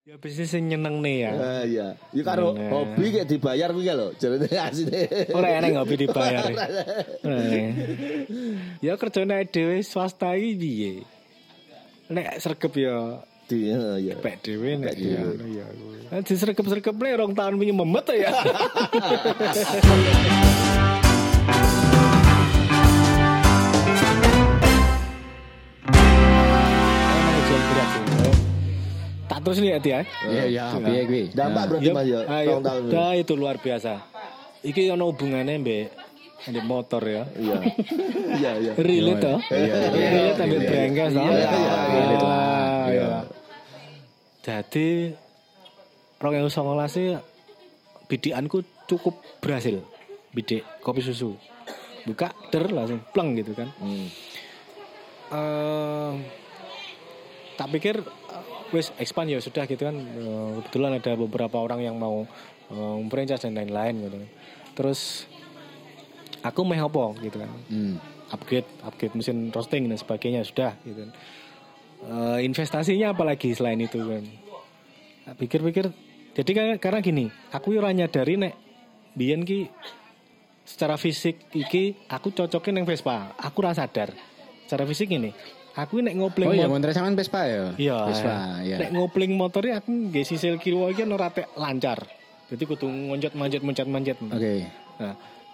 Ya bisnis sing nyenengne ya. Iya. Ya karo hobi kayak dibayar kuwi lho, jarene asine. Ora enek hobi dibayar. Ya kerjane dhewe swasta iki piye? Nek sregep ya Iya. pek dhewe nek ya. Nek disregep-sregep nek 2 tahun wingi memet ya. Tak terus nih ya. Iya, piye kuwi? Dampak berarti Mas ya. Tahun-tahun. Dah itu luar biasa. Iki ono hubungannya mbek motor ya. Iya. Iya. Relate toh? Relate ambil brenggas toh? Iya. Jadi 2019 sih bidikanku cukup berhasil. Bidik kopi susu. Buka langsung pleng gitu kan. Tak pikir wis expand ya sudah gitu kan. Kebetulan ada beberapa orang yang mau franchise dan lain-lain gitu. Terus aku mau apa gitu kan. Upgrade mesin roasting dan sebagainya sudah gitu. Investasinya apalagi selain itu kan. Pikir-pikir jadi karena gini, aku ora nyadari nek biyen ki secara fisik iki aku cocokin yang Vespa. Aku ora sadar. Secara fisik ini aku nek ngopling. Oh iya, motor sampean Vespa ya? Iya. Vespa, ya. Nek ngopling motornya aku nggih sisil kiwa iki ora tek lancar. Jadi kudu manjat. Oke. Nah,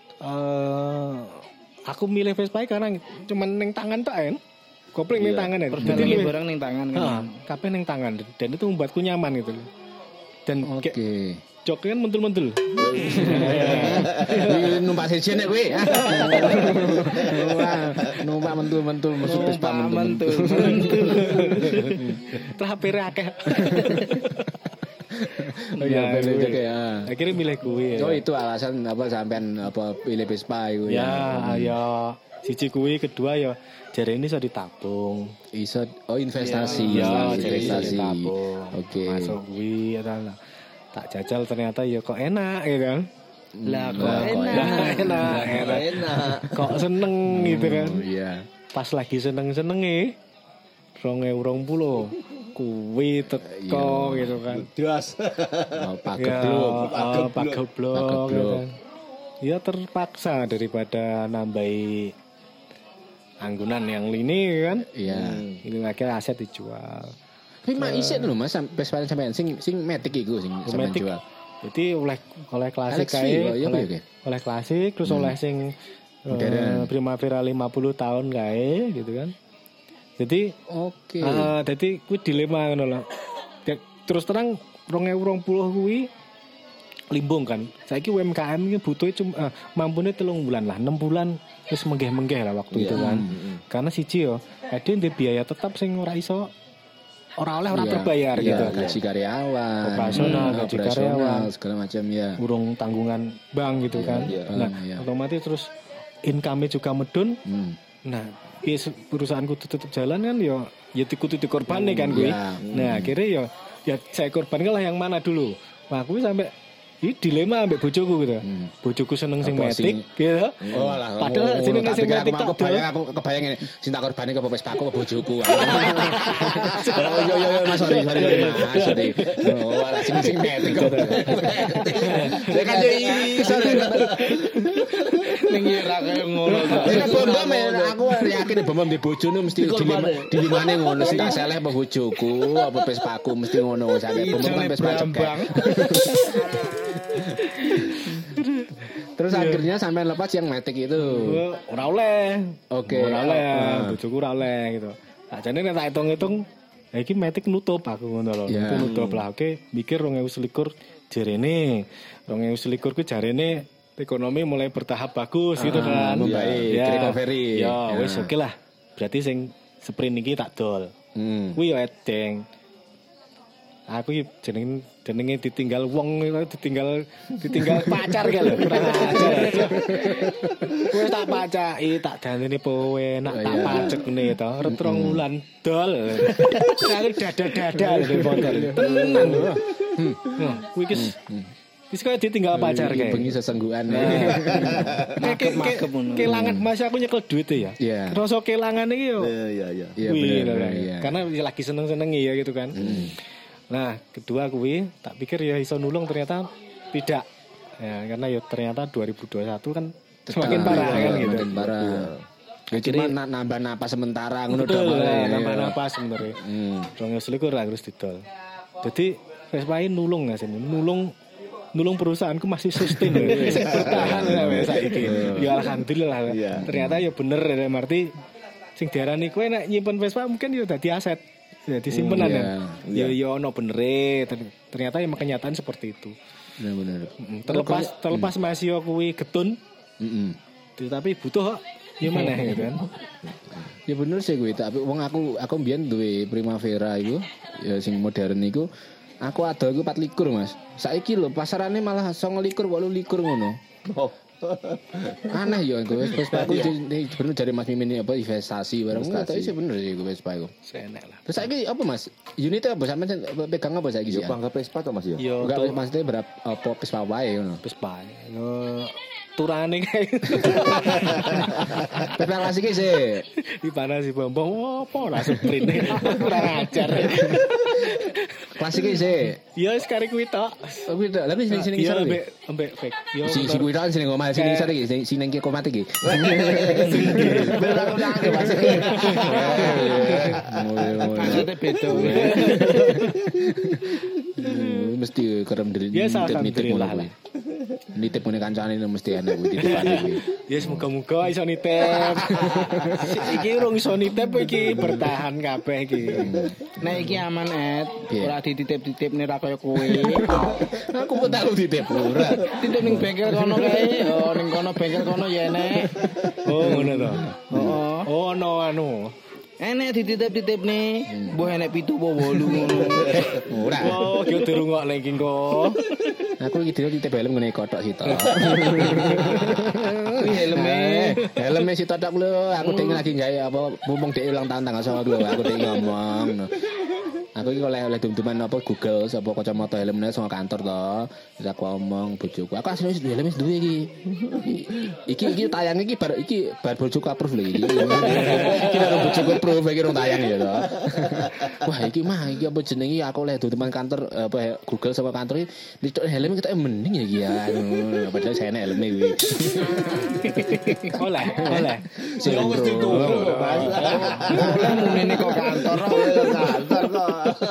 aku milih Vespa karena cuman ning tangan tok kan. Kopling ning tangan ya. Jadi barang ning tangan kan. Kabeh ning tangan dan itu membuatku nyaman gitu. Dan joknya kan mentul-mentul. Numpak sejen nek kowe. Numpak mentul-mentul musuh Vespa mentul. Trapere akeh. Oh iya, bener ya. Akhirnya milih kuwi. Oh itu alasan apa sampean apa pilih Vespa iku ya. Ya, siji kuwi, kedua ya jarene iso ditabung. Iso investasi. Ya, investasi. Oke. Masuk kuwi ya tak jajal ternyata ya kok enak ya kan. Lah kok enak. Kok seneng gitu kan. Iya. Pas lagi seneng-senenge 2020 kuwi teko gitu kan. Das. Pageblok gitu kan. Ya terpaksa daripada nambahi anggunan yang lini kan. Iya. Ini akhirnya aset dijual. Tapi mak isih lho Mas sampean sing matic iku sing sampean jual. Jadi oleh klasik kae, oleh klasik terus oleh sing Primavera 50 tahun kae gitu kan. Jadi jadi kuwi dilema ngono lho. Terus terang 2020 kuwi limbung kan. Saiki UMKM iki butuh cuma mampune 3 bulan lah, 6 bulan wis menggeh-menggeh lah waktu itu kan. Karena siji yo, ada biaya tetap sing ora iso ora terbayar gitu. Gaji karyawan, operasional segala macam ya. Urung tanggungan bank gitu kan. Nah, otomatis terus income-nya juga medun. Nah, perusahaanku tutup jalan kan ya kudu dikorban kan gue. Nah, akhirnya ya saya korbankan lah yang mana dulu. Wah, aku sampai dilema ambek bojoku gitu. Bojoku seneng sing metik gitu. Padahal seneng sing metik tok. Aku kebayang ngene, sing tak korbane ke Vespaku ke bojoku. Yo Mas sorry. Oh, sing metik kok. Ya kan yo iso. Ning ora kaya ngono. Nek bom aku yakin bom di bojone mesti dilimane ngono sing tak seleh apa bojoku apa Vespaku mesti ngono sampe bom Vespa cekek. Terus akhirnya sampai lepas yang matic itu. Ora oleh. Oke. Ora oleh. Bojoku ora oleh gitu. Sakjane nek tak hitung-hitung iki matic nutup aku ngono lho. Itu nutup lah. Oke, mikir 2021 jarene. 2021 ku jarene ekonomi mulai bertahap bagus gitu kan. Baik, recovery. Ya wis oke lah. Berarti sing sprint iki tak dol. Kuwi yo edeng. Aku iki jenenge ditinggal wong ditinggal pacar kae lho kurang ajar. Kowe tak pacaki tak dandani kowe nak tak pacek ngene to. Retrong wulan dol. Aku dada lho motor. Tenan lho. Kuwi wis kaya ditinggal pacar kae. Bengi sesenggukan. Makep ngono. Kelangan Mas aku nyekel duit ya. Rasa kelangan iki yo. Iya. Iya bener. Karena lagi seneng-seneng ya gitu kan. Nah, kedua kuwi tak pikir ya iso nulung, ternyata tidak. Ya, karena ya ternyata 2021 kan semakin parah kan gitu. Semakin parah. Ya cuma nambah napas sementara ngono betul lah, nambah napas sebenarnya. 2021 lah terus didol. Jadi Vespa ini nulung nggak sih? Nulung perusahaanku masih sustain bertahan lah saiki. Ya alhamdulillah. Ternyata ya bener ya arti sing diarani kowe nek nyimpen Vespa mungkin ya dadi aset. Dadi simpenan kan. Ya ono benere. Ternyata ya kenyataan seperti itu. Benar. Terlepas masih kuwi getun. Tapi butuh gimana gitu kan. Ya bener sih gue, tapi wong aku mbiyen duwe Primavera iku, ya sing modern iku. Aku ada iku 24 Mas. Saiki lho pasarane malah 29 28 ngono. Oh. Aneh ya gue Vespa aku bener dari Mas Mimin apa investasi barang tapi sih bener sih gue Vespa iku. Senek lah. Terus saiki apa Mas? Unitnya apa sampe pegang apa saiki ya? Bangga Vespa to Mas ya? Enggak maksudnya berapa apa Vespa wae ngono. Vespa. Turane kae. Vespa klasik sih. Di mana sih Bambang apa ora sprint. Kurang ajar. Klasik sih. Ya sekali kuwi tok. Kuwi tok. Lah sing ya ambek fake. Yo si kuwi tok sing ngomah sing isor iki sing nang komat iki. Maksudnya beda. Mesti kerem diri nitip lah. Nitip ngene kancane mesti enak kuwi titipan iki. Ya semoga-moga iso nitip. Iki urung iso nitip iki bertahan kabeh iki. Nek iki aman ora dititip-titip nek ra kaya kowe. Aku kok tak dititip ora. Titip ning bengkel kono kae. Oh ning kono bengkel kono ya enek. Oh ngono to. Oh ono anu. Enek dititip-titip nih. Mbah enek 7 apa 8 ngono. Ora. Oh ki dirungokne iki kok. Aku iki dhewe titip helm ngene kotok sitok. Kuwi helme sitok tok lho. Aku dhewe lagi gawe apa mumpung dhewe ulang tahun tanggal 22 aku dhewe ngomong. Aku iki oleh dum-duman apa Google sapa kacamata helmne saka kantor to. Terus aku ngomong bojoku, aku asline helm wis duwe iki. Iki tayang iki bar bojoku approve lho iki. Iki karo bojoku approve iki rong tayang ya to. Wah, iki apa jenenge aku oleh dum-duman kantor apa Google saka kantor iki ditok helm kita mending ya iki ya. Padahal saya helmne kuwi. Oleh. Sing wis ditunggu. Oleh mune kok kantor kok.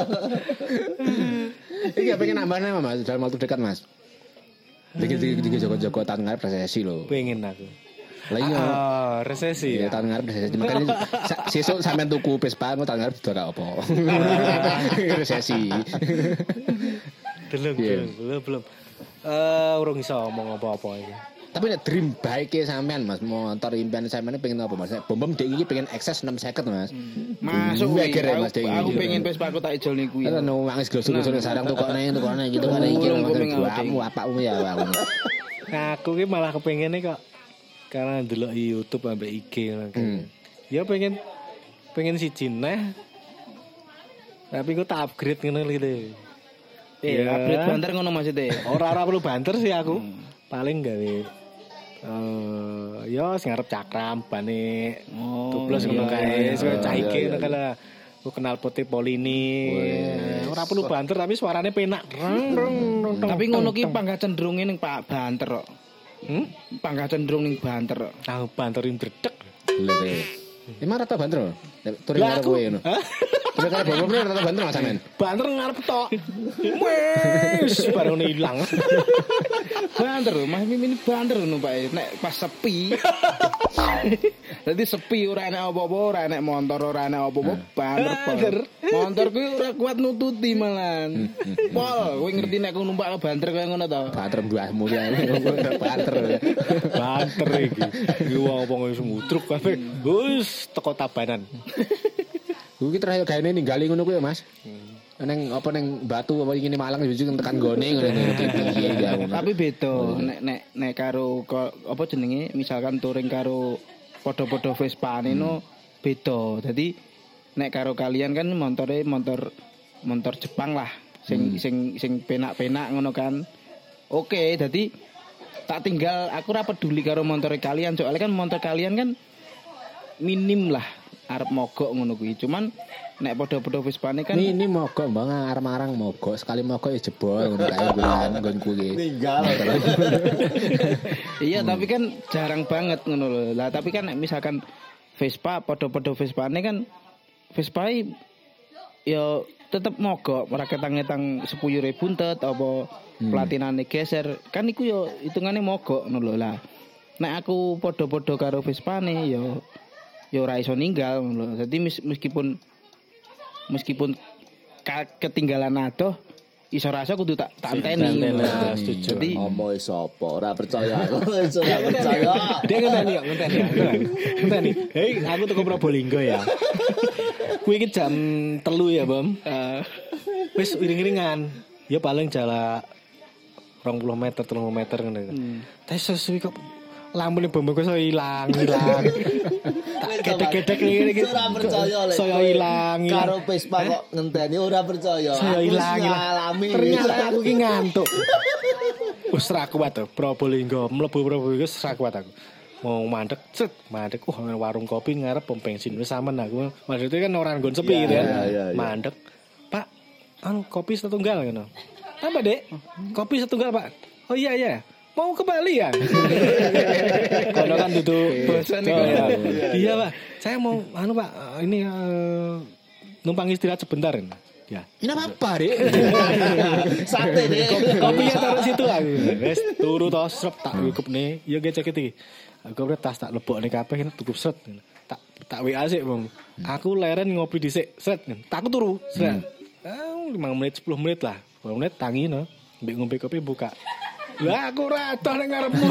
Iki pengen nambahnya Mas dalam waktu dekat Mas. Dikit Joko tahun ngarep resesi lho. Pengen aku. Lah iya. Resesi. Ya tahun ngarep resesi. Makanya sesuk sampean tuku Vespa tahun ngarep ora apa. Resesi. Belum. Urung iso ngomong apa-apa iki. Tapi nek dream bike sampean Mas, motor impian sampean pengen apa Mas? Bom iki pengen akses 6 second Mas. Masuk aku pengen Vespa aku tak ijol niku kuwi. Ono wangis glosur-glosur sarang tukokne gitu kan iki kamu apakmu ya aku. Nah, aku ki malah kepengene kok karena ndelok YouTube ambek IG ngono. Ya pengen siji neh. Tapi kok tak upgrade ngono gitu. Upgrade banter ngono maksudnya. Ora perlu banter sih aku. Paling gawe ya sing arep cakram bane tublos ngono kae sing caike ngono kala ku kenal putih polini ora perlu banter tapi suarane penak tapi ngono ki panggah cenderunge ning Pak banter kok panggah cenderung ning banter kok banter ing bredeg lho emang rata banter turun karo kowe ngono terus karo bapakmu rata banter Mas sampean banter ngarep tok wis baru ilang banter Mas Mimin banter ngono Pak nek pas sepi dadi sepi ora enek apa-apa ora enek motor ora enek apa-apa banter motor kuwi ora kuat nututi malan pol kowe ngerti nek aku numpak banter kaya ngono to banter mbuahmu ya banter iki wong apa wis mutruk kabeh wis teko tabanan kuwi terakhir gaene ninggali ngono kuwi Mas neng apa neng Batu apa ngene Malang jujur tekan gone ngono. Tapi beda nek karo apa jenenge misalkan touring karo padha-padha Vespa neno beda. Dadi nek karo kalian kan motor Jepang lah sing penak-penak ngono kan. Oke, dadi tak tinggal aku ora peduli karo motor kalian soalnya kan motor kalian kan minim lah arep mogok ngono kuwi. Cuman nek padha-padha Vespane kan ini mogok Bang arang-arang mogok sekali mogok ya jebol ngono kae bulan nggonku iki. Tinggal. Iya, tapi kan jarang banget ngono lho. Lah tapi kan nek misalkan Vespa padha-padha Vespane kan Vespae ya tetep mogok ora ketang-ketang 10.000 buntet apa platinane geser kan iku ya hitungane mogok ngono lho. Lah nek aku padha-padha karo Vespane ya ora iso ninggal ngono lho. Dadi meskipun ketinggalan adoh iso rasa kudu tak anteni. Setuju. Jadi omoe sapa ora percaya aku ora percaya. Dia ngenteni. Hei, aku tuku Probolinggo ya. Kuwi iki jam 3 ya, Bam. Wis iring-iringan. Ya paling jala 20 meter, 30 meter ngono. Tapi sesuwi kok lampune Bam kok iso ilang. Gedek-gedek ngene iki. Ora percaya lek. Saya ilang. Karo Vespa kok ngenteni ora percaya. Saya ilang. Ternyata aku ki ngantuk. Wis ra kuat to, Probolinggo, mlebu Probolinggo wis ra kuat aku. Mau mandek, warung kopi ngarep pom bensin wis sampean aku. Maksudnya kan orang nggon sepi gitu kan. Mandek. Pak, kopi setunggal ngono. Apa, Dek? Kopi setunggal, Pak. Oh iya. Mau ke Bali ya? Kono kan duduk bosan ya. Iya, Pak. Saya mau Pak, ini numpang istirahat sebentar. Ya. Ini apa, Dek? Sate deh. Kopinya taruh situ aku. Wes turu to srep tak wikupne. Ya gecek iki. Aku tas tak lebokne kabeh tukup set. Tak WA sik, Bang. Aku leren ngopi dhisik. Set. Tak turu. Set. 5 menit 10 menit lah. 10 menit tangi no. Mbek ngombe kopi buka. Lah aku ora atoh ning ngarepmu.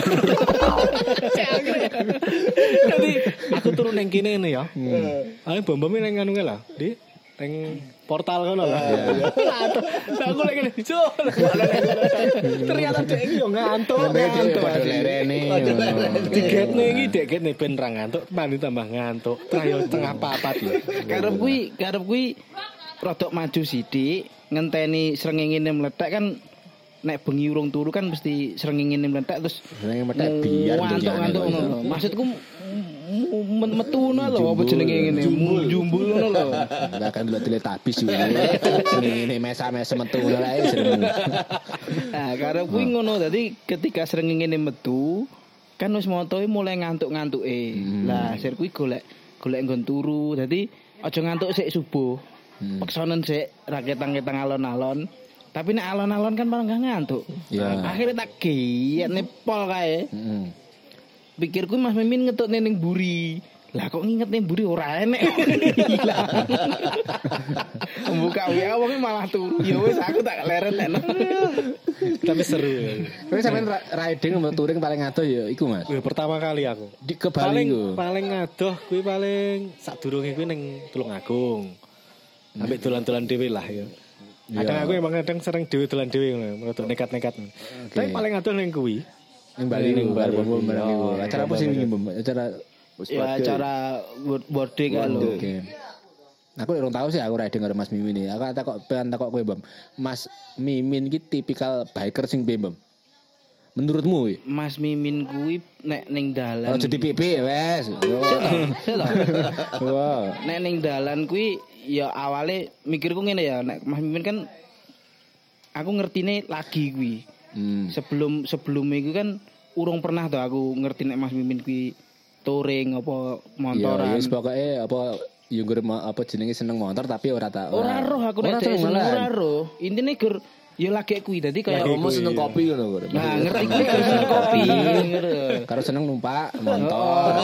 Jadi aku turu ning kene ngene ya. Ae bom-bom ning anu lah. Di ning portal kono lah. Lah aku lagi ngene. Ternyata dhek iki yo ngantuk. Lerene. Tiketne iki deketne ben ra ngantuk, mandi tambah ngantuk. Tah yo tengah papat lho. Karep kuwi rodok maju sithik, ngenteni srengenge meledak kan nek bengi urung turu kan mesti srengenge meledak terus meledak biar ngantuk ngono. Maksudku metu ngono lho apa jenenge ngene jumbul ngono lho. Enggak kan delok Teletubbies yo. Srengenge mesa-mesa metu ngono ae seneng. Nah, karep kuwi ngono. Dadi ketika srengenge metu kan wis motoe mulai ngantuk-ngantuke. Lah sir kuwi golek nggon turu. Dadi aja ngantuk sik subuh. Peksonen sik ra ketang-ketang alon-alon. Tapi nek alon-alon kan malah gak ngantuk. Ya. Akhirnya tak giyet nepol kae. Pikirku Mas Mimin ngetokne ning mburi. Lah kok ngingetne mburi ora enek. Buka WA wong malah turu. Ya wis aku tak leren enak. Tapi seru. Kowe sampean riding sama touring paling adoh ya iku Mas. Pertama kali aku. Di ke Bali ku. Paling adoh kuwi paling sadurunge kuwi ning Tulungagung. Ambek dolan-dolan dhewe lah ya. Kadang aku emang sering dolan dhewe ngono, nekat-nekat. Tapi paling adoh ning kuwi. Ning Bali ning bom barang iku. Acara apa sih iki, Bom? Acara birthday kan lho. Oke. Aku urung tahu sih aku riding karo Mas Mimin iki. Aku takok kowe, Bom. Mas Mimin iki tipikal biker sing piye, Bom? Menurutmu iki? Mas Mimin kuwi nek ning dalan. Aja dipipi wes. Wow. Nek ning dalan kuwi ya awale mikirku ngene ya, nek Mas Mimin kan aku ngertine lagi kuwi. Sebelum iku kan urung pernah to aku ngerti nek Mas Mimin kuwi touring apa motoran. Ya wis pokoke apa yo apa jenenge seneng motor tapi ora roh aku nek ora roh. Intine gur ya lagi kuwi dadi kaya kamu seneng kopi ngono kok. Nah, ngerti kuwi karo seneng kopi ngono. Karo seneng numpak motor.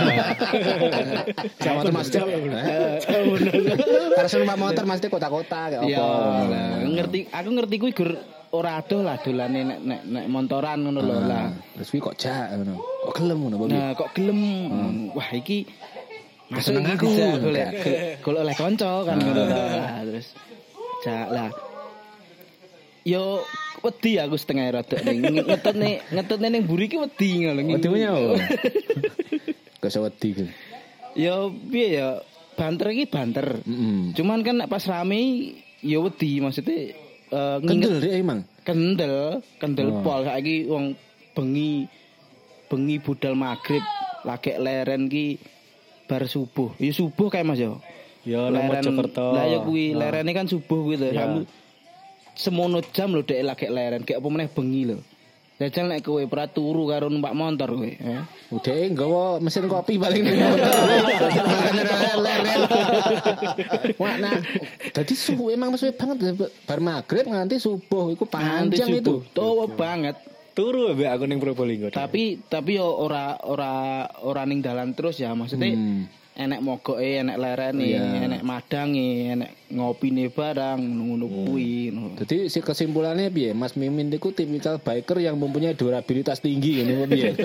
Sama Mas Cep. Karo seneng numpak motor mesti kota-kota kayak apa. Aku ngerti kuwi gur ora adoh lah dolane nek montoran ngono lho lah. Terus kuwi kok jak ngono. Kok gelem ngono Bang. Nah, kok gelem. Wah, iki masuk aku golek oleh kanca kan ngono lah. Terus jak lah. Yo wedi aku setengah rada ning ngetutne ning mburi ki wedi ngono. Wedinya opo? Kok wedi ku. Yo piye ya banter iki banter. Cuman kan pas rame yo wedi maksudnya kendel deh emang. Kendel pol saiki wong bengi budal magrib lagi leren ki bar subuh. Ya subuh kayak Mas yo. Ya Mojokerto. Lah ya kuwi lerene kan subuh kuwi lho. Kamu semono jam lho dek lagi leren, kayak apa meneh bengi lho. Jajal nek kowe ora turu karo numpak motor kowe, Udah nggawa mesin kopi paling motor. Leren. Wah, nah, dadi subuh emang suwe banget bar magrib nganti subuh iku panjang itu. Tuwa banget. Turu mbek aku ning Probolinggo. Tapi yo ora ning dalan terus ya, maksudnya enek mogoke, enek lerene, enek madange, enek ngopine barang ngono kuwi. Jadi si kesimpulannya piye? Mas Mimin itu tipikal biker yang mempunyai durabilitas tinggi ngono piye?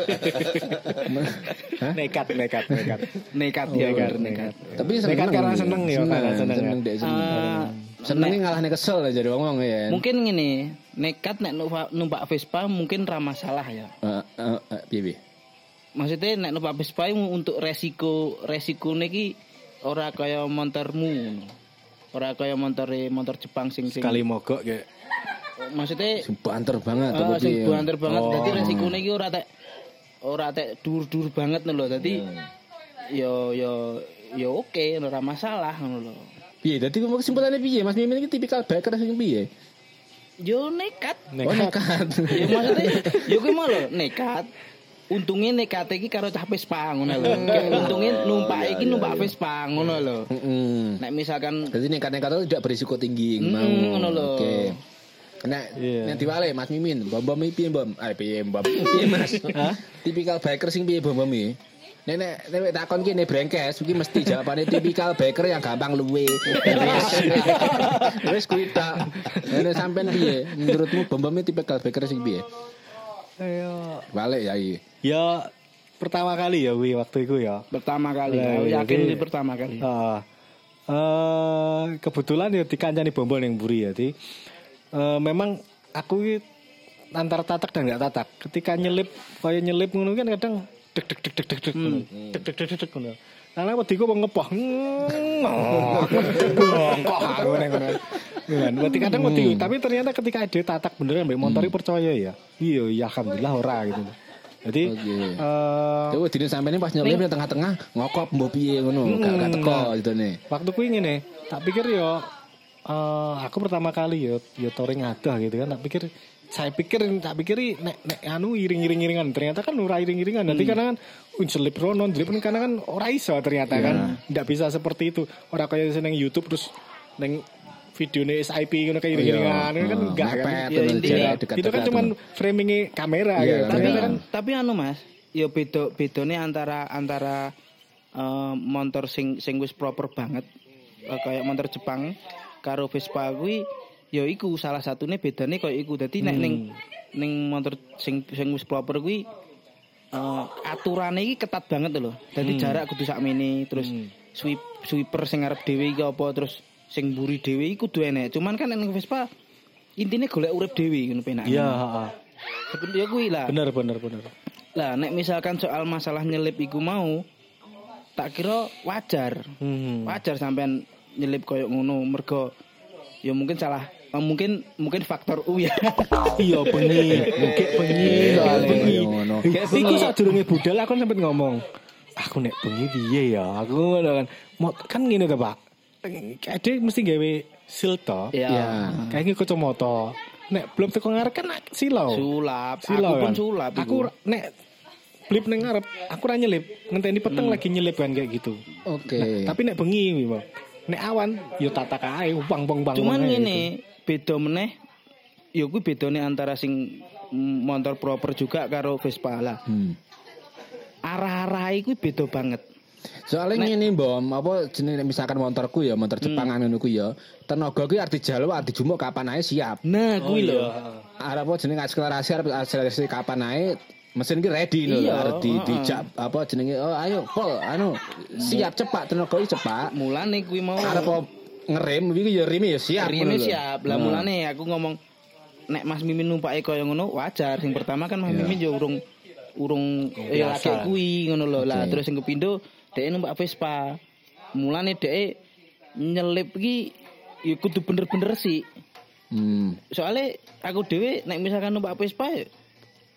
Nekat. Tapi nekat karena seneng ya, seneng dek seneng ngalahne kesel aja jadi ngomong ya. Mungkin ngene, nekat nek numpak Vespa mungkin ra masalah ya. Piye? Maksudnya nek numpak Vespa untuk resiko niki ora kaya motormu. Ora kaya motor Jepang sing sekali mogok kayak. Maksudnya banter banget sing banter banget. Dadi resikone iki ora tek dur-dur banget lho. Dadi yo oke, ora masalah ngono lho. Piye? Dadi kesimpulannya piye? Mas Mimin iki tipikal biker sing piye? Yo nekat. Nekat. Ya maksudnya yo kuwi mau lho nekat. Untungnya nekat iki karo cah Vespa ngono lho. Untungnya numpak iki numpak Vespa ngono lho. Nek misalkan jadi nekat-nekat itu tidak berisiko tinggi ngono lho. Oke. Nek diwale Mas Mimin, bom piye bom? Piye bom? Piye Mas? Tipikal biker sing piye bom iki? Nek takon ki ne brengkes iki mesti jawabane tipikal biker yang gampang luwe. Wis kuwi tak. Nek sampean piye? Menurutmu bom tipikal biker sing piye? Ayo. Balik ya iki. Ya pertama kali ya waktu itu ya. Pertama kali. Aku yakin ini pertama kali. Kebetulan ya dikancani bombol ning mburi ya. Jadi memang aku antara tatak dan enggak tatak. Ketika nyelip ngono kan kadang deg ngono. Karena wedi ku ngepoh. Bongkok aku ning ngono. Wedi kadang wedi, tapi ternyata ketika ada tatak beneran mbek motor percaya ya. Iya, alhamdulillah ora gitu. Jadi coba dine sampeyan pas nyelip di tengah-tengah ngokop mbok piye ngono, gak teko gitu nih. Waktu kuwi ngene, tak pikir yo aku pertama kali yo touring adah gitu kan. Tak pikir nek anu iring-iringan ternyata kan ora iring-iringan. Nanti karena kan selip rono, karena kan ora iso ternyata kan. Ndak bisa seperti itu. Ora kayak seneng YouTube terus neng videone SIP ngono kayak iring-iringan kan enggak kan. Ya intinya itu kan cuman framing kamera gitu. Tapi anu Mas, ya bedone antara motor sing wis proper banget kayak motor Jepang karo Vespa kuwi ya iku salah satune bedane koyo iku. Dadi nek ning motor sing wis proper kuwi aturane iki ketat banget lho. Dadi jarak kudu sakmene terus sweeper sing arep dhewe iki apa terus sing mburi dhewe iki kudu enek. Cuman kan ning Vespa intine golek urip dhewe ngono penake. Iya, heeh. Sebenarnya kuwi lah. Bener. Lah nek misalkan soal masalah nyelip iku mau tak kira wajar. Wajar sampean nyelip koyo ngono mergo ya mungkin salah mungkin faktor U ya. Iya bengi ngono. Iku sadurunge budal aku sempet ngomong. Aku nek bengi piye ya? Aku ngono kan ngene to, Pak. Ade mesti gawe sil to. Iya. Kayak kacamata. Nek belum teko ngarep kan silau. Sulap. Aku pun sulap. Aku nek blip nang ngarep, aku ora nyelip. Ngenteni peteng lagi nyelip kan kayak gitu. Oke. Tapi nek bengi Bang. Nek awan yo tatak ae bang. Cuman ngene, beda meneh. Ya kuwi bedane antara sing motor proper juga karo Vespa lah. Arah-arah iku beda banget. Soalnya ngene Mbom, apa jenenge misalkan motorku ya, motor Jepangan ngono ku ya. Tenaga kuwi arep dijaluk, arep dijumuk kapan ae siap. Nah, kuwi lho. Arep apa jenenge akselerasi kapan ae mesin ki ready lho, arep dijak apa jenenge ayo pol siap cepat tenaga iki cepat. Mulane kuwi mau arep ngerem iki ya rime ya siap. Rime siap. Lah mulane aku ngomong nek Mas Mimin numpake kaya ngono wajar. Sing pertama kan Mas Mimin yo urung laki kuwi ngono lho. Lah terus sing kepindho dhek numpak Vespa. Mulane dhek nyelip iki ya kudu bener-bener sih. Soale aku dhewe nek misalkan numpak Vespa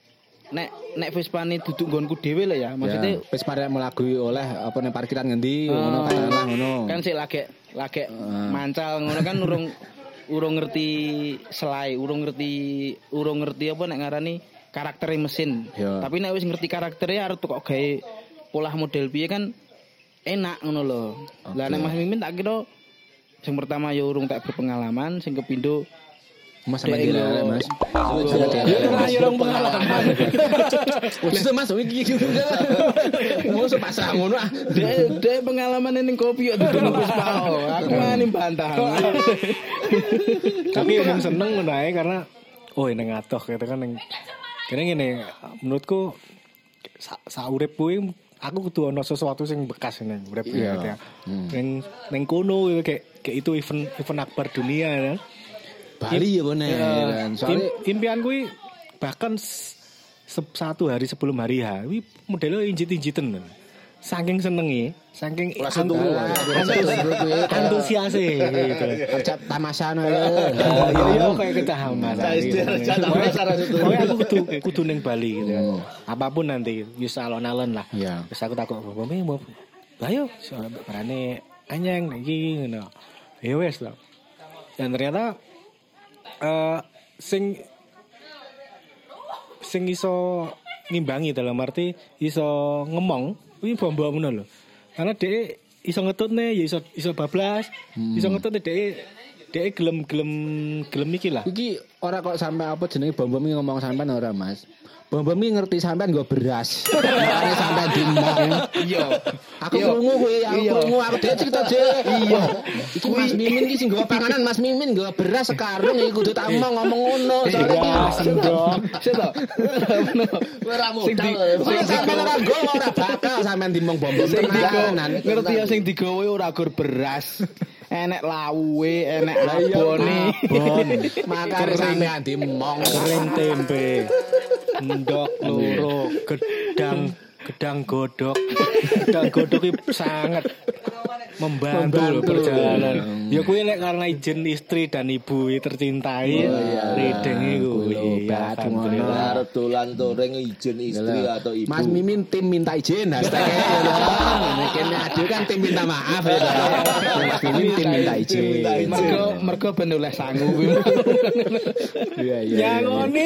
nek Vespane duduk nggonku dhewe lho ya. Maksudnya Vespa rek mlaku oleh apa ning parkiran ngendi ngono katakanlah ngono. Kan sik lagi mancal ngono kan urung ngerti selai, urung ngerti apa nek ngarani karakter mesin. Tapi nek wis ngerti karakternya arep kok gawe pola model piye kan enak ngono lho. Lah nek Mas Mimin tak kira sing pertama ya urung tak berpengalaman, sing kepindho Mas sampe dhewe Mas. Ya urung pengalaman. Wis Mas iki ngono sepasang ngono ah. Dek pengalaman ning kopi kok duduk Vespa. Aku ngani bantah. Tapi yang seneng ngono ae karena ning atoh gitu kan ning kene ngene menurutku saurip kuwi aku kudu ana sesuatu sing bekas ning urip ya. Ning kono kayak itu event akbar dunia ya. Bali ya bener kan. Soalnya impian kuwi bahkan 1 hari sebelum hari H, kuwi modelnya injit-injiten. Saking senenge, saking antusiase gitu. Ajak tamasane. Ya kayak ketahaman. Pokoknya aku kudu ning Bali gitu kan. Apapun nanti wis alon-alon lah. Wis aku takut bome mau. Ayo berane anyang iki ngono. Ya wis lah. Dan ternyata sing iso ngimbangi dalam arti iso ngomong kuwi bombo ngono lho. Karena dhek iso ngetutne ya iso bablas, iso ngetutne dhek gelem iki lah. Iki ora kok sampe apa jenenge bombo ngomong sampean ora Mas. Bombo ngerti sampean nggo beras. Makane sampean dimong. Iya. Aku krungu kuwi, aku dhewe cerita dhewe. Iya. Iki Mas Mimin iki sing nggawa panganan, Mas Mimin nggawa beras sekarung iki kudu tak ngomong ngono. Sik to. Ora modal. Sampeyan ora nggawa ora bakal sampean dimong bombo tenanan. Ngerti ya sing digawe ora gur beras. Enek lawuhe, enek abone. Makane sampean dimong kering tempe. Ndok loro gedang godok itu sangat membantu perjalanan. Ya kuwi lek karena izin istri dan ibu tercintai rideng iku. Ya alhamdulillah dolan touring izin istri atau ibu. Mas Mimin tim minta izin hashtag ya. Kene ade kan tim minta maaf ya. Mas Mimin tim minta izin. Mergo ben oleh sangu kuwi. Iya. Nyangoni.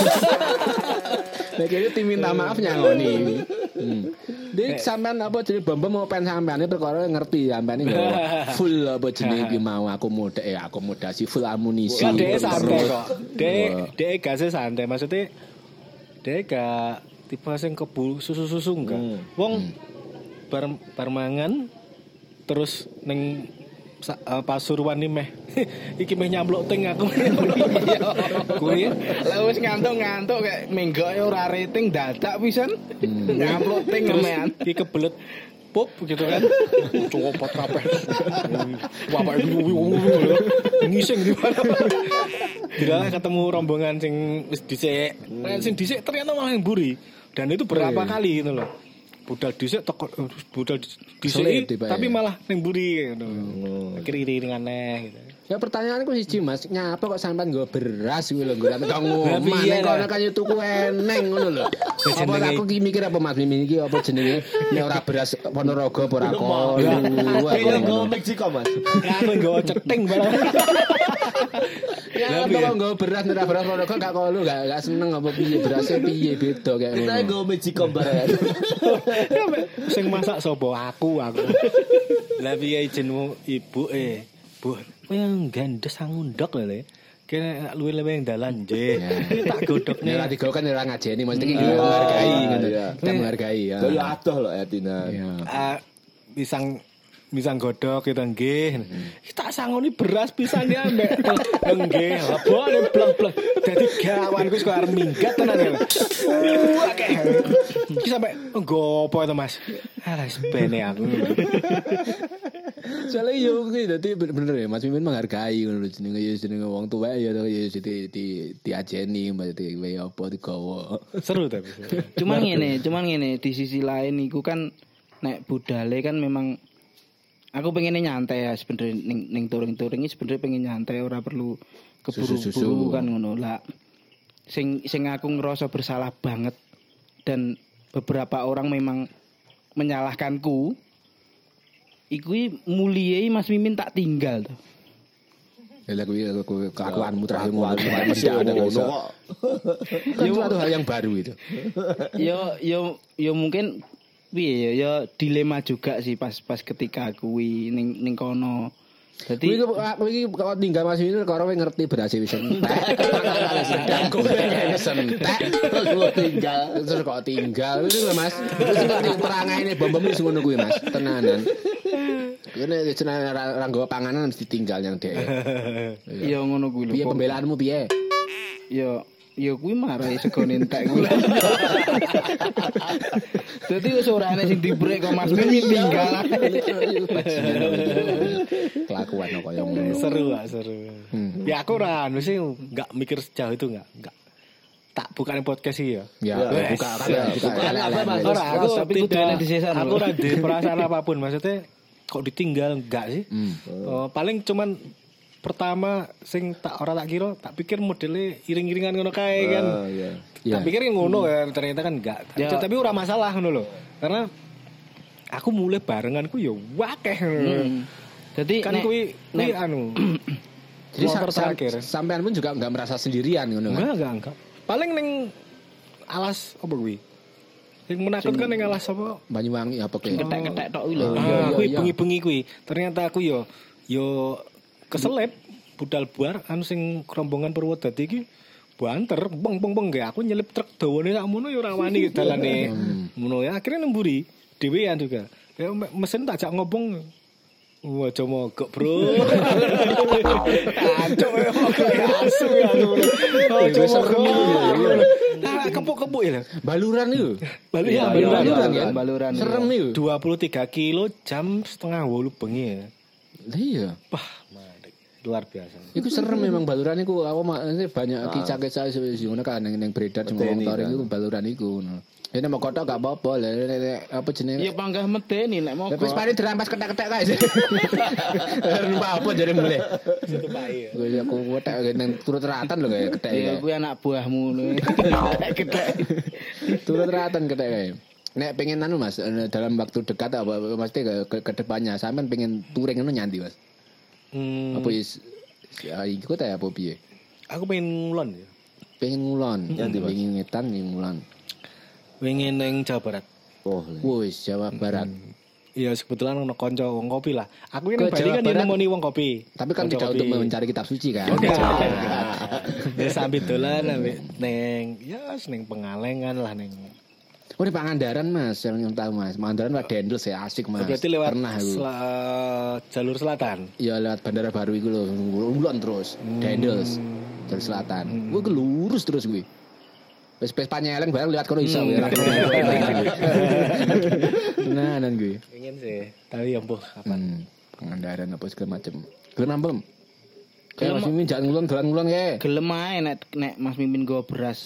Nek tim minta maaf nyangoni. Dik sampean apa jenenge bombo mau pen sampean perkara ngerti sampean iki full apa jenenge iki mau akomodasi full amunisi. Dek santai kok. Dek gase santai maksudnya dek gak tipe sing kebul susu-susu enggak. Wong bar mangan terus ning Pasuruan iki meh iki meh nyampluk ting aku. Kuwi lha wis ngantuk-ngantuk kayak menggoke ora rating dadak pisan. Nyampluk ting mean. Iki kebelet pop gitu kan. Copot kabeh. Bapak ngising di mana. Bila ketemu rombongan sing wis dhisik. Sing dhisik ternyata malah mburi. Dan itu berapa kali gitu loh. Budal dhisik tapi malah ning mburi ngono. Kiri-kiri aneh gitu. Ya pertanyaanku siji Mas, nyapa kok sampean nggo beras kuwi lho, nggo ngomong. Kono kan tuku eneng ngono lho. Apa aku ki mikir apa Mas Mimin iki apa jenenge nek ora beras Ponorogo apa ora kono. Iki nggo Meksiko Mas. Aku nggo ceting malah. Ya kalau nggo beras nek beras Ponorogo gak kono gak seneng apa piye berase piye beda kayak ngono. Kita nggo Meksiko bareng. Sing masak sapa aku. Lah piye jenengmu ibu Bu, kowe gandes ngundok lho. Kene luwih-luwih dalan nggih. Tak godhokne. Nek digawe kan ora ngajeni, mesti iki menghargai ngono. Kita menghargai ya. Kaya adoh lho Etina. Pisang godhok kita nggih. Tak sangoni beras pisang ya mbek. Nggih, lebone bleng-bleng. Dadi gawanku kok arep minggat tenan ya. Akeh. Iki sampe nggo apa to Mas? Alah sepene aku. Soalnya yo kuwi dadi bener ya Mas Mimin menghargai ngono jenenge wong tuwek ya diajeni berarti wae apa digawa. Seru tapi. Cuman ngene di sisi lain iku kan nek budale kan memang aku pengen nyantai ya sebenarnya ning touring-touring iki sebenarnya pengen nyantai ora perlu keburu-buru kan ngono lah. Sing aku ngerasa bersalah banget dan beberapa orang memang menyalahkanku. Iku muliai Mas Mimin tak tinggal tuh. Ya kuwi kelakuanmu terakhir mesti ada ngono kok. Itu satu hal yang baru itu. Yo mungkin piye ya dilema juga sih pas ketika kuwi ning kono. Dadi iki kok tinggal Mas Mimin karo ngerti berhasil wis entek. Sedang sentek terus tinggal itu Mas. Terus ngerti perangane bom-bom wis ngono kuwi Mas. Tenanan. Kene jenenge ora nggawa panganan mesti tinggal yang dhek. Ya ngono kuwi lho. Piye pembelaanmu piye? Ya kuwi marai segone entek kuwi. Dadi wis ora ana sing dibrek kok Mas Mimin tinggal. Kelakuan kok yang ngono. Seru. Ya aku ora mesti enggak mikir sejauh itu enggak. Tak bukan podcast sih ya. Ya, bukan apa Mas? Ora, aku tidak aku ora di perasaan apapun maksudnya kok ditinggal enggak sih? Paling cuman pertama sing tak kira tak pikir modelnya iring-iringan ngono kae kan. Tak pikir ngono kan ternyata kan enggak. Tapi ora masalah ngono lho. Karena aku mulai barenganku ya wakeh. Jadi kan kuwi anu. Jadi sampean pun juga enggak merasa sendirian ngono kan? Enggak. Paling ning alas apa kuwi? Sing menakutkan ning alas apa? Banyuwangi apa kuwi? Ketek-ketek tok kuwi lho. Kuwi bengi-bengi kuwi. Ternyata aku yo keselip budal buar anu sing rombongan Purwodadi iki banter beng nggih aku nyelip truk dawane sakmono yo ora wani dalane. Ngono ya akhirnya nemburi dhewean juga. Ya mesin tak jak ngobong. Wah, coba mogok, Bro. Kacau ya, asu ya. Kepuk-kepuk ya. Baluran itu. Baluran. Serem itu. 23 kilo jam setengah 8 bengi ya. Iya. Wah, luar biasa. Itu serem memang baluran itu. Aku banyak kicak-kicak ngono kan yang beredar di motor itu baluran itu. Ini mau kotak gak apa-apa lah. Apa jenenge? Ya panggah medeni nek mogok. Wis paling dirampas ketek-ketek kae. Lupa apa jare mulai. Situ bae. Gue aku kotak nang turut ratan lho kayak ketek. Ya kuwi anak buahmu lho. Ketek. Turut ratan ketek kae. Nek pengen anu Mas dalam waktu dekat apa mesti ke depannya sampean pengen touring ngono nyanti Mas. Apa is iku ta apa piye? Aku pengen ngulon ya. Pengen ngulon. Pengen ngetan pengen ngulon. Pengen nang Jawa Barat. Oh, wis Jawa Barat. Iya, kebetulan ono kanca wong kopi lah. Aku kan Bali kan nemoni wong kopi. Tapi kan tidak untuk mencari kitab suci kan. Ya sambil dolan neng ya ning Pengalengan lah ning. Oh, di Pangandaran Mas, yang tahu Mas. Pangandaran Pak Dendels ya asik Mas. Berarti lewat pernah jalur selatan. Iya, lewat Bandara Baru iku lho, ngulon terus. Dendels. Jalur selatan. Gue lurus terus gue. Wis panyeleng bareng lihat kono iso. Nah, nan gue. Pengen sih, tapi ya mbuh kapan. Pangandaran apa segala macam. Gelem ambem. Kayak Mas Mimin jangan ngulon dolan ngulon kae. Gelem ae nek Mas Mimin go beras.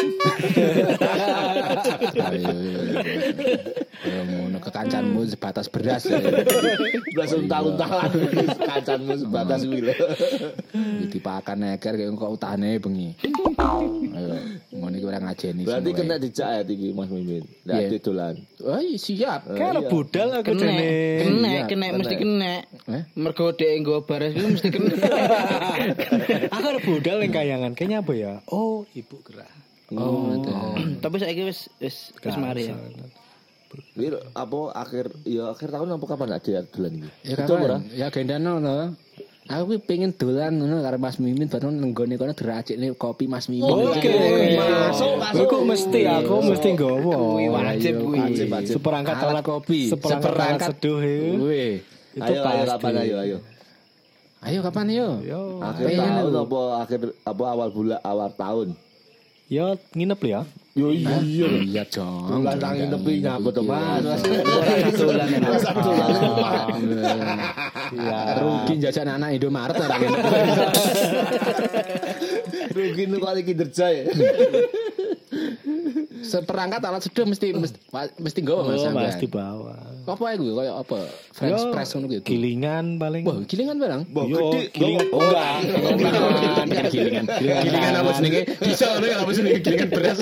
Ayo ngono kekancanmu sebatas beras ya. Beras untal-untalan kancanmu sebatas kuwi lho. Dipakan neker kok utane bengi. Ayo ngono iki ora ngajeni. Berarti kena dijak iki Mas Mimin. Lah dolan. Oh siap. Kan budal aku jane. Kena mesti kena. Mergo dhek nggo beras kuwi mesti kena. Aku ada budal yang kayangan. Kayaknya apa ya? Oh, Ibu Gerah. Tapi saiki wis mari ya. Iki apa akhir tahun apa kapan ada dolan iki? Ya kapan? Ya gendano no. Aku pengen dolan ngono karo Mas Mimin bareng nenggone kono diracikne kopi Mas Mimin. Oke. Masuk. Aku mesti nggowo. Wajib kuwi. Seperangkat alat kopi. Seperangkat seduh itu. Itu kapan ayo. Ayo kapan yo? Akhir tahun apa awal tahun? Ya nginep ya. Yo iya dong. Bulan nang nginep nyambut to Mas. Satu bulan. Ya rugi jajan anak Indomaret ora kene. Rugi nu kali kinerja ya. seperangkat alat seduh mesti nggawa Mas. Oh, pasti bawa. Apa iku koyo apa? French press ngono gitu. Gilingan paling. Wah, gilingan barang. Yo, gilingan. Oh, enggak. Gilingan. Gilingan apa jenenge? Bisa ngono ya apa jenenge gilingan beras.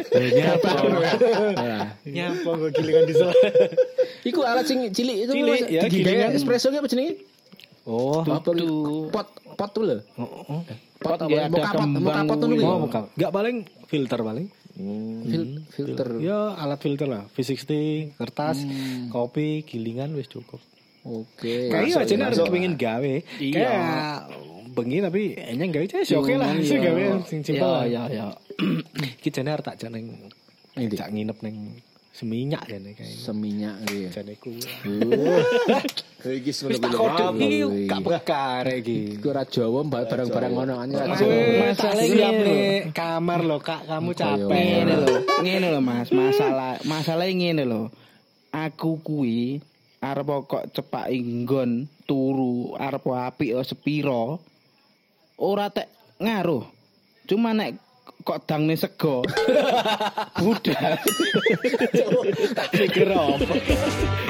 Nyapa kok gilingan di sela. Iku alat sing cilik itu ya, gilingan espresso ki apa jenenge? Oh, apa pot tuh lho. Pot dia ada kembang. Oh, bukan. Enggak paling filter paling. Filter. Ya alat filter lah. V60, kertas, kopi, gilingan wis cukup. Oke. Kayaknya aja harus kepengin gawe. Kayak bengi tapi enyeng gawe aja oke lah. Sing gawe sing simpel. Ya. Ki jane arep tak jane tak nginep ning Seminyak jane kayaknya. Seminyak iki. Jane ku. Iki wis tak kodok iki gak bekar iki. Iku ora Jawa barang-barang ngono kan. Masalahnya kamar lo Kak, kamu capek. Ngene lho Mas, masalah ngene lho. Aku kuwi arep kok cepak nggon turu arep apik sepiro. Ora tek ngaruh. Cuma nek kok dangne sego. Budal. Tak pikir apa.